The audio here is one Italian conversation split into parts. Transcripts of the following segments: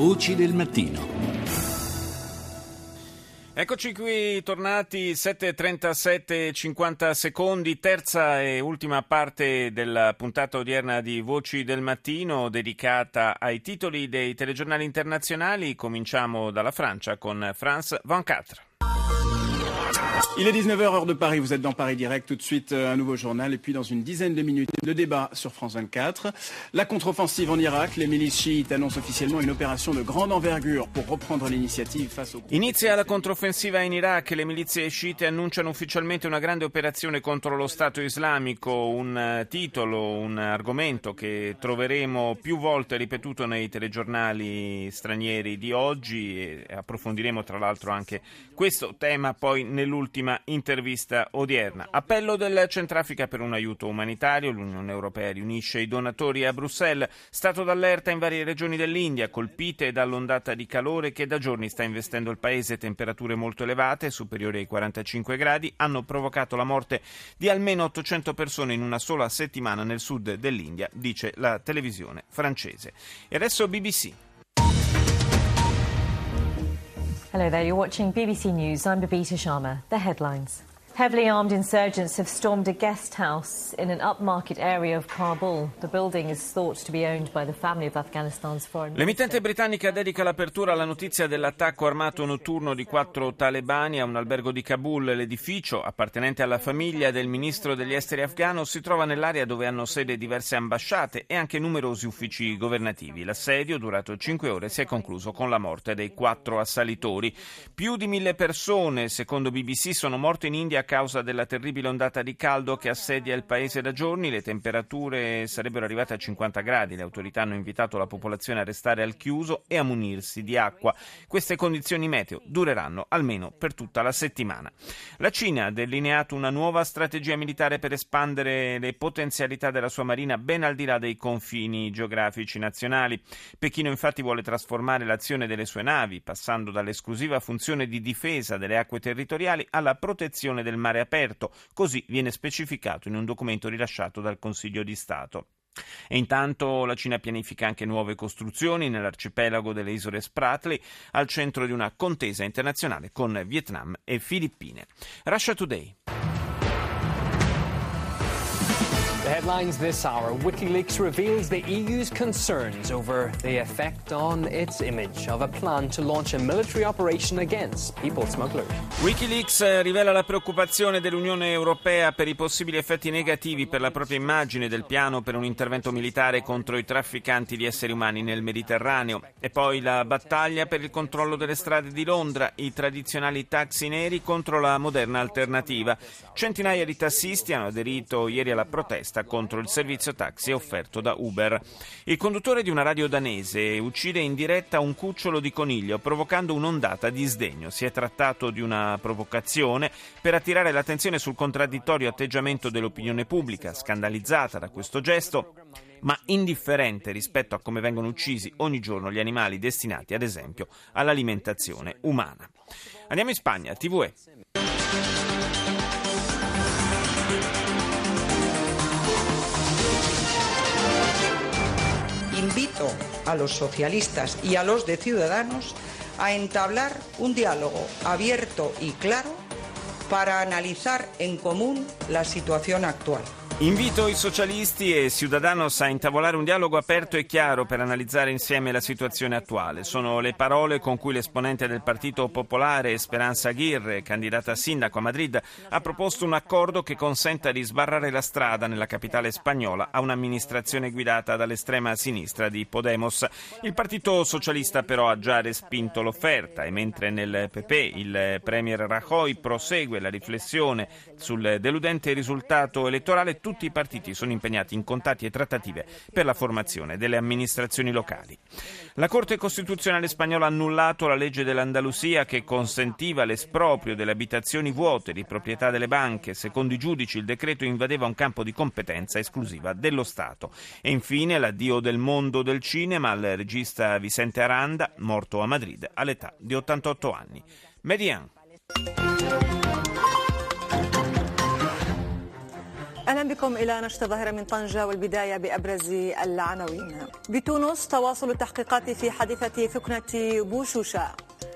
Voci del mattino. Eccoci qui, tornati 7:37, 50 secondi, terza e ultima parte della puntata odierna di Voci del Mattino, dedicata ai titoli dei telegiornali internazionali. Cominciamo dalla Francia con France 24. Il est 19h, heure de Paris, vous êtes dans Paris Direct, tout de suite un nouveau journal et puis dans une dizaine de minutes le débat sur France 24. La contre-offensive en Irak, les milices chiites annoncent officiellement une opération de grande envergure pour reprendre l'iniziative face au... Inizia la controffensiva in Iraq, le milizie sciite annunciano ufficialmente una grande operazione contro lo Stato islamico, un titolo, un argomento che troveremo più volte ripetuto nei telegiornali stranieri di oggi e approfondiremo tra l'altro anche questo tema poi nell'ultima intervista odierna. Appello del Centrafrica per un aiuto umanitario, l'Unione Europea riunisce i donatori a Bruxelles, stato d'allerta in varie regioni dell'India colpite dall'ondata di calore che da giorni sta investendo il paese. Temperature molto elevate, superiori ai 45 gradi, hanno provocato la morte di almeno 800 persone in una sola settimana nel sud dell'India, dice la televisione francese. E adesso BBC. Hello there, you're watching BBC News. I'm Babita Sharma. The headlines. Heavily armed insurgents have stormed a guest house in an upmarket area of Kabul. The building is thought to be owned by the family of Afghanistan's foreign minister. L'emittente britannica dedica l'apertura alla notizia dell'attacco armato notturno di 4 talebani a un albergo di Kabul. L'edificio, appartenente alla famiglia del ministro degli esteri afghano, si trova nell'area dove hanno sede diverse ambasciate e anche numerosi uffici governativi. L'assedio, durato 5 ore, si è concluso con la morte dei 4 assalitori. Più di 1.000 persone, secondo BBC, sono morte in India a causa della terribile ondata di caldo che assedia il paese da giorni. Le temperature sarebbero arrivate a 50 gradi. Le autorità hanno invitato la popolazione a restare al chiuso e a munirsi di acqua. Queste condizioni meteo dureranno almeno per tutta la settimana. La Cina ha delineato una nuova strategia militare per espandere le potenzialità della sua marina ben al di là dei confini geografici nazionali. Pechino infatti vuole trasformare l'azione delle sue navi, passando dall'esclusiva funzione di difesa delle acque territoriali alla protezione del mare aperto, così viene specificato in un documento rilasciato dal Consiglio di Stato. E intanto la Cina pianifica anche nuove costruzioni nell'arcipelago delle isole Spratly, al centro di una contesa internazionale con Vietnam e Filippine. Russia Today. The headlines this hour. WikiLeaks reveals the EU's concerns over the effect on its image of a plan to launch a military operation against people smugglers. WikiLeaks rivela la preoccupazione dell'Unione Europea per i possibili effetti negativi per la propria immagine del piano per un intervento militare contro i trafficanti di esseri umani nel Mediterraneo. E poi la battaglia per il controllo delle strade di Londra, i tradizionali taxi neri contro la moderna alternativa. Centinaia di tassisti hanno aderito ieri alla protesta contro il servizio taxi offerto da Uber. Il conduttore di una radio danese uccide in diretta un cucciolo di coniglio, provocando un'ondata di sdegno. Si è trattato di una provocazione per attirare l'attenzione sul contraddittorio atteggiamento dell'opinione pubblica, scandalizzata da questo gesto, ma indifferente rispetto a come vengono uccisi ogni giorno gli animali destinati, ad esempio, all'alimentazione umana. Andiamo in Spagna, TVE. Invito a los socialistas y a los de Ciudadanos a entablar un diálogo abierto y claro para analizar en común la situación actual. Invito i socialisti e Ciudadanos a intavolare un dialogo aperto e chiaro per analizzare insieme la situazione attuale. Sono le parole con cui l'esponente del Partito Popolare, Esperanza Aguirre, candidata a sindaco a Madrid, ha proposto un accordo che consenta di sbarrare la strada nella capitale spagnola a un'amministrazione guidata dall'estrema sinistra di Podemos. Il Partito Socialista però ha già respinto l'offerta e mentre nel PP il premier Rajoy prosegue la riflessione sul deludente risultato elettorale, tutti i partiti sono impegnati in contatti e trattative per la formazione delle amministrazioni locali. La Corte Costituzionale spagnola ha annullato la legge dell'Andalusia che consentiva l'esproprio delle abitazioni vuote di proprietà delle banche. Secondo i giudici il decreto invadeva un campo di competenza esclusiva dello Stato. E infine l'addio del mondo del cinema al regista Vicente Aranda, morto a Madrid all'età di 88 anni. Median. أهلا بكم إلى نشرة ظاهرة من طنجة والبداية بأبرز العناوين. بتونس تواصل التحقيقات في حادثة ثكنة بوشوشة.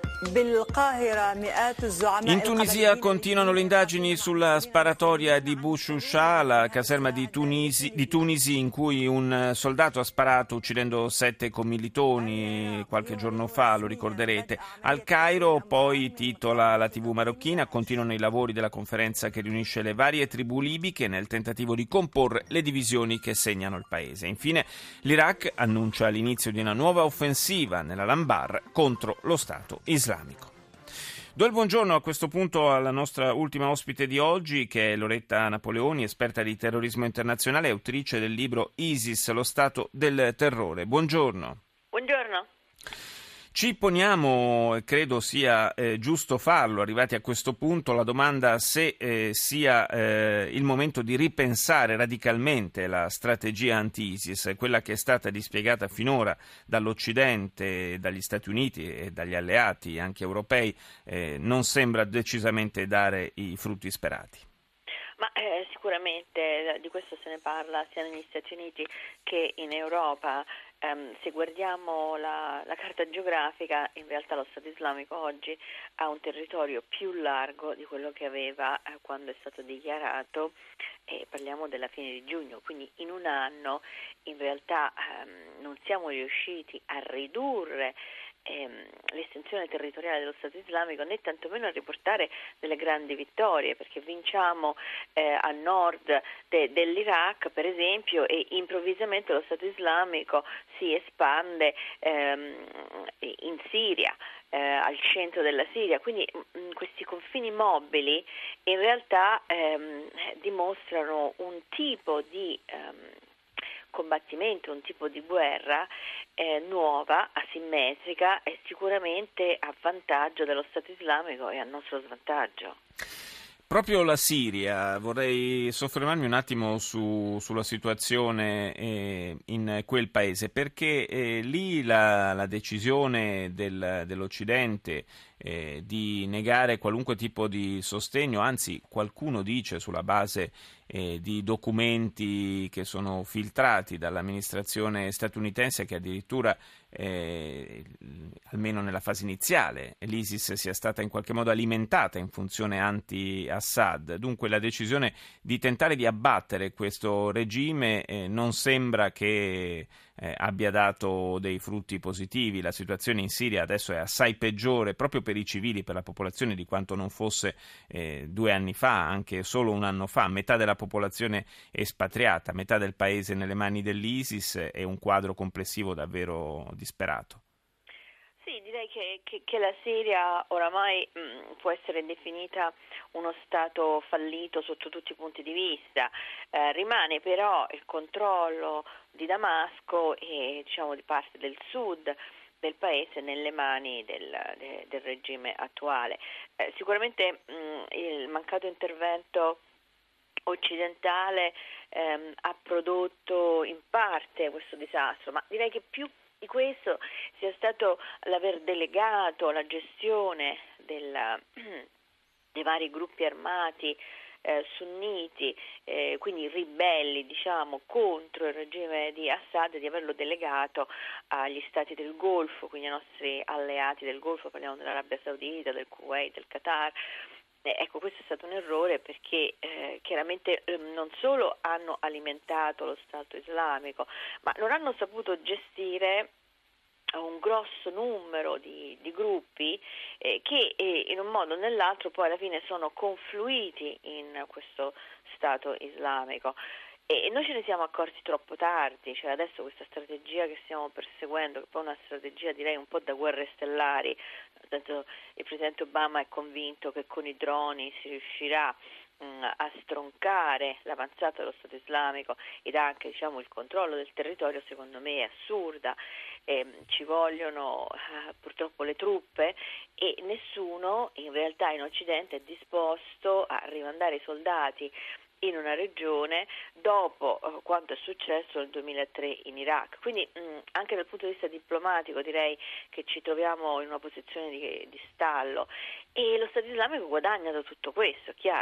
In Tunisia continuano le indagini sulla sparatoria di Bouchoucha, la caserma di Tunisi, in cui un soldato ha sparato uccidendo 7 commilitoni qualche giorno fa, lo ricorderete. Al Cairo, poi, titola la TV marocchina, continuano i lavori della conferenza che riunisce le varie tribù libiche nel tentativo di comporre le divisioni che segnano il paese. Infine, l'Iraq annuncia l'inizio di una nuova offensiva nella Lambar contro lo Stato islamico. Do il buongiorno a questo punto alla nostra ultima ospite di oggi, che è Loretta Napoleoni, esperta di terrorismo internazionale e autrice del libro ISIS, lo Stato del terrore. Buongiorno. Buongiorno. Ci poniamo, e credo sia giusto farlo, arrivati a questo punto, la domanda se sia il momento di ripensare radicalmente la strategia anti-ISIS, quella che è stata dispiegata finora dall'Occidente, dagli Stati Uniti e dagli alleati anche europei, non sembra decisamente dare i frutti sperati. Ma sicuramente di questo se ne parla sia negli Stati Uniti che in Europa. Se guardiamo la carta geografica, in realtà lo Stato islamico oggi ha un territorio più largo di quello che aveva quando è stato dichiarato, e parliamo della fine di giugno, quindi in un anno in realtà non siamo riusciti a ridurre l'estensione territoriale dello Stato islamico, né tantomeno a riportare delle grandi vittorie, perché vinciamo a nord dell'Iraq per esempio, e improvvisamente lo Stato islamico si espande in Siria, al centro della Siria, quindi questi confini mobili in realtà dimostrano un tipo di combattimento, un tipo di guerra nuova, asimmetrica e sicuramente a vantaggio dello Stato islamico e a nostro svantaggio. Proprio la Siria, vorrei soffermarmi un attimo sulla situazione in quel paese, perché lì la decisione dell'Occidente di negare qualunque tipo di sostegno, anzi qualcuno dice sulla base di documenti che sono filtrati dall'amministrazione statunitense che addirittura almeno nella fase iniziale l'ISIS sia stata in qualche modo alimentata in funzione anti-Assad. Dunque la decisione di tentare di abbattere questo regime non sembra che abbia dato dei frutti positivi. La situazione in Siria adesso è assai peggiore proprio per i civili, per la popolazione, di quanto non fosse 2 anni fa, anche solo un anno fa. Metà della popolazione espatriata, metà del paese nelle mani dell'ISIS, è un quadro complessivo davvero disperato. Sì, direi che la Siria oramai può essere definita uno Stato fallito sotto tutti i punti di vista. Rimane però il controllo di Damasco e di parte del sud del paese nelle mani del regime attuale. Sicuramente il mancato intervento occidentale ha prodotto in parte questo disastro, ma direi che più di questo sia stato l'aver delegato la gestione dei vari gruppi armati sunniti, quindi ribelli contro il regime di Assad, di averlo delegato agli stati del Golfo, quindi ai nostri alleati del Golfo, parliamo dell'Arabia Saudita, del Kuwait, del Qatar. Ecco, questo è stato un errore perché chiaramente non solo hanno alimentato lo Stato islamico, ma non hanno saputo gestire un grosso numero di gruppi che in un modo o nell'altro poi alla fine sono confluiti in questo Stato islamico. E noi ce ne siamo accorti troppo tardi, adesso questa strategia che stiamo perseguendo, che poi è una strategia direi un po' da guerre stellari, il Presidente Obama è convinto che con i droni si riuscirà a stroncare l'avanzata dello Stato islamico ed anche il controllo del territorio. Secondo me è assurda, ci vogliono purtroppo le truppe e nessuno in realtà in Occidente è disposto a rimandare i soldati in una regione dopo quanto è successo nel 2003 in Iraq. Quindi anche dal punto di vista diplomatico direi che ci troviamo in una posizione di stallo e lo Stato islamico guadagna da tutto questo, chiaro.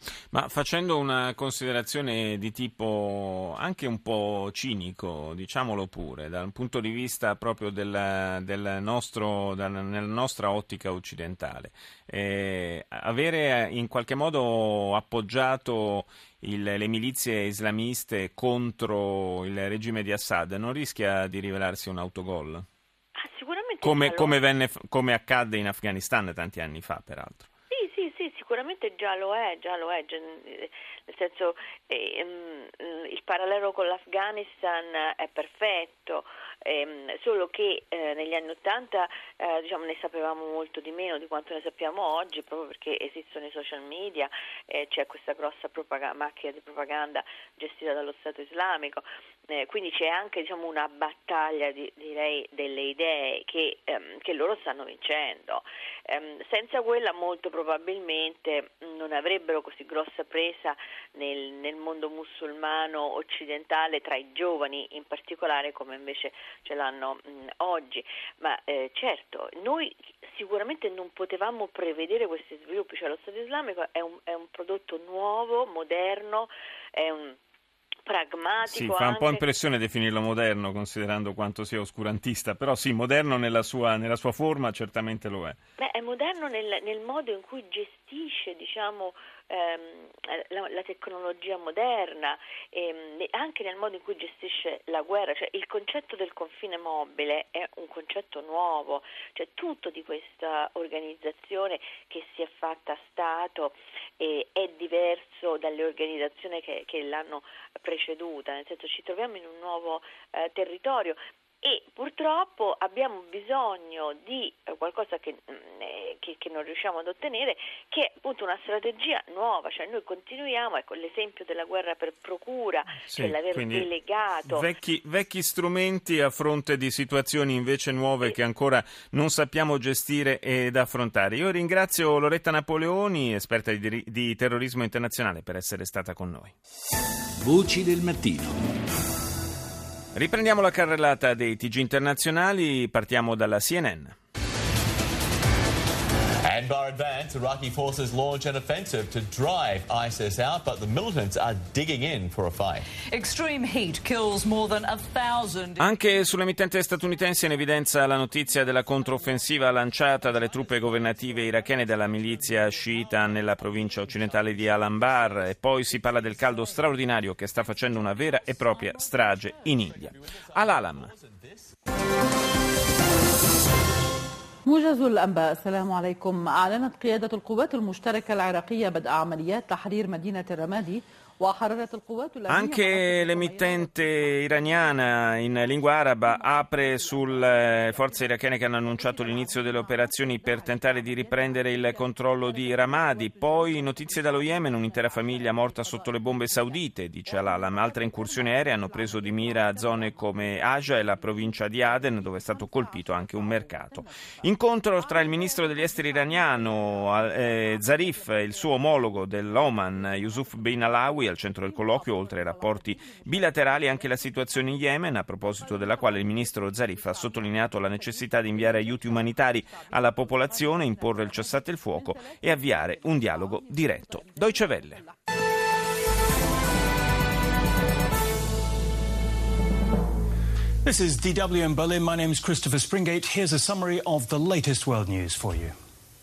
Ma facendo una considerazione di tipo anche un po' cinico, diciamolo pure, dal punto di vista proprio nella nostra ottica occidentale, avere in qualche modo appoggiato le milizie islamiste contro il regime di Assad non rischia di rivelarsi un autogol? Sicuramente come accadde in Afghanistan tanti anni fa, peraltro. Sì, sicuramente già lo è, nel senso il parallelo con l'Afghanistan è perfetto, solo che negli anni '80 ne sapevamo molto di meno di quanto ne sappiamo oggi, proprio perché esistono i social media, c'è questa grossa macchina di propaganda gestita dallo Stato islamico, quindi c'è anche una battaglia direi delle idee che loro stanno vincendo. Senza quella molto probabilmente non avrebbero così grossa presa nel mondo musulmano occidentale, tra i giovani in particolare, come invece ce l'hanno oggi. Ma certo, noi sicuramente non potevamo prevedere questi sviluppi, cioè lo Stato islamico è un prodotto nuovo, moderno, è un pragmatico. Sì, fa un po' impressione definirlo moderno, considerando quanto sia oscurantista, però sì, moderno nella sua forma certamente lo è. È moderno nel modo in cui gestisce, la tecnologia moderna, anche nel modo in cui gestisce la guerra, cioè il concetto del confine mobile è un concetto nuovo, cioè tutto di questa organizzazione che si è fatta Stato è diverso dalle organizzazioni che l'hanno preceduta, nel senso ci troviamo in un nuovo territorio. E purtroppo abbiamo bisogno di qualcosa che non riusciamo ad ottenere, che è appunto una strategia nuova, cioè noi continuiamo, l'esempio della guerra per procura, sì, cioè l'aver delegato vecchi strumenti a fronte di situazioni invece nuove che ancora non sappiamo gestire ed affrontare. Io ringrazio Loretta Napoleoni, esperta di terrorismo internazionale, per essere stata con noi. Voci del mattino. Riprendiamo la carrellata dei TG internazionali, partiamo dalla CNN. Anbar advance, Iraqi forces launch an offensive to drive ISIS out, but the militants are digging in for a fight. Extreme heat kills more than 1,000. Anche sull'emittente statunitense in evidenza la notizia della controffensiva lanciata dalle truppe governative irachene dalla milizia sciita nella provincia occidentale di Al-Anbar, e poi si parla del caldo straordinario che sta facendo una vera e propria strage in India. Al-Alam. موجز الأنباء. السلام عليكم. أعلنت قيادة القوات المشتركة العراقية بدء عمليات تحرير مدينة الرمادي. Anche l'emittente iraniana in lingua araba apre sulle forze irachene che hanno annunciato l'inizio delle operazioni per tentare di riprendere il controllo di Ramadi. Poi notizie dallo Yemen, un'intera famiglia morta sotto le bombe saudite, dice Al-Alam. Altre incursioni aeree hanno preso di mira zone come Aja e la provincia di Aden, dove è stato colpito anche un mercato. Incontro tra il ministro degli esteri iraniano Zarif e il suo omologo dell'Oman Yusuf bin Alawi. Al centro del colloquio, oltre ai rapporti bilaterali, anche la situazione in Yemen, a proposito della quale il ministro Zarif ha sottolineato la necessità di inviare aiuti umanitari alla popolazione, imporre il cessate il fuoco e avviare un dialogo diretto. Deutsche Welle. This is DW in Berlin. My name is Christopher Springate. Here's a summary of the latest world news for you.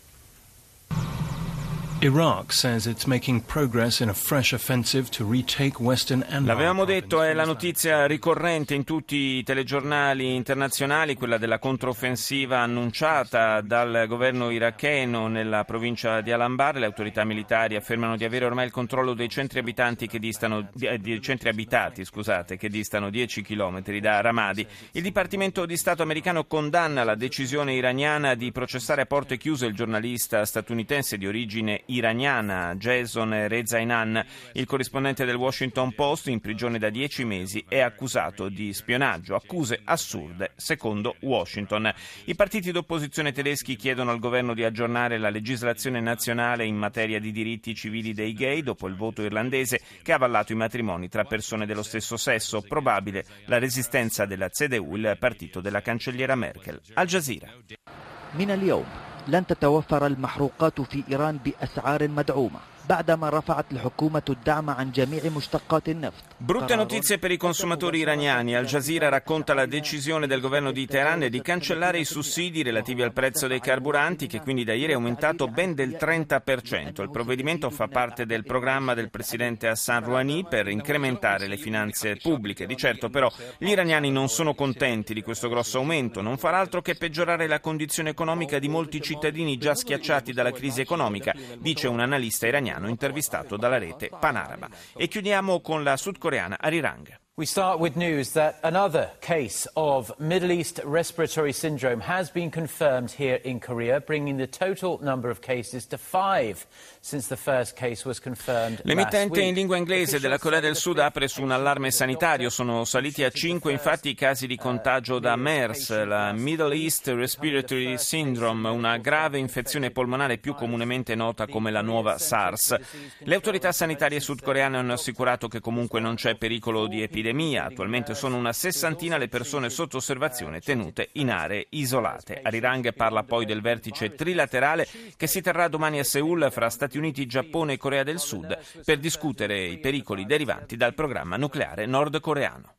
Iraq says it's making progress in a fresh offensive to retake Western Anbar. L'avevamo detto, è la notizia ricorrente in tutti i telegiornali internazionali, quella della controffensiva annunciata dal governo iracheno nella provincia di Al-Anbar. Le autorità militari affermano di avere ormai il controllo dei centri abitati che distano 10 chilometri da Ramadi. Il Dipartimento di Stato americano condanna la decisione iraniana di processare a porte chiuse il giornalista statunitense di origine iraniana Jason Rezaian. Il corrispondente del Washington Post, in prigione da 10 mesi, è accusato di spionaggio. Accuse assurde, secondo Washington. I partiti d'opposizione tedeschi chiedono al governo di aggiornare la legislazione nazionale in materia di diritti civili dei gay dopo il voto irlandese che ha avallato i matrimoni tra persone dello stesso sesso. Probabile la resistenza della CDU, il partito della cancelliera Merkel. Al Jazeera. من اليوم لن تتوفر المحروقات في إيران بأسعار مدعومة. بعدما رفعت الحكومة الدعم عن جميع مشتقات النفط. Brutte notizie per i consumatori iraniani. Al Jazeera racconta la decisione del governo di Teheran di cancellare i sussidi relativi al prezzo dei carburanti, che quindi da ieri è aumentato ben del 30%. Il provvedimento fa parte del programma del presidente Hassan Rouhani per incrementare le finanze pubbliche. Di certo però gli iraniani non sono contenti di questo grosso aumento, non farà altro che peggiorare la condizione economica di molti cittadini già schiacciati dalla crisi economica, dice un analista iraniano intervistato dalla rete Panaraba. E chiudiamo con la sudcoreana Arirang. We start with news that another case of Middle East respiratory syndrome has been confirmed here in Korea, bringing the total number of cases to 5 since the first case was confirmed last L'emittente week. in lingua inglese della Corea del Sud apre su un allarme sanitario. Sono saliti a 5 infatti i casi di contagio da MERS, la Middle East Respiratory Syndrome, una grave infezione polmonare più comunemente nota come la nuova SARS. Le autorità sanitarie sudcoreane hanno assicurato che comunque non c'è pericolo di epidemia. Attualmente sono una 60 le persone sotto osservazione tenute in aree isolate. Arirang parla poi del vertice trilaterale che si terrà domani a Seul fra Stati Uniti, Giappone e Corea del Sud per discutere i pericoli derivanti dal programma nucleare nordcoreano.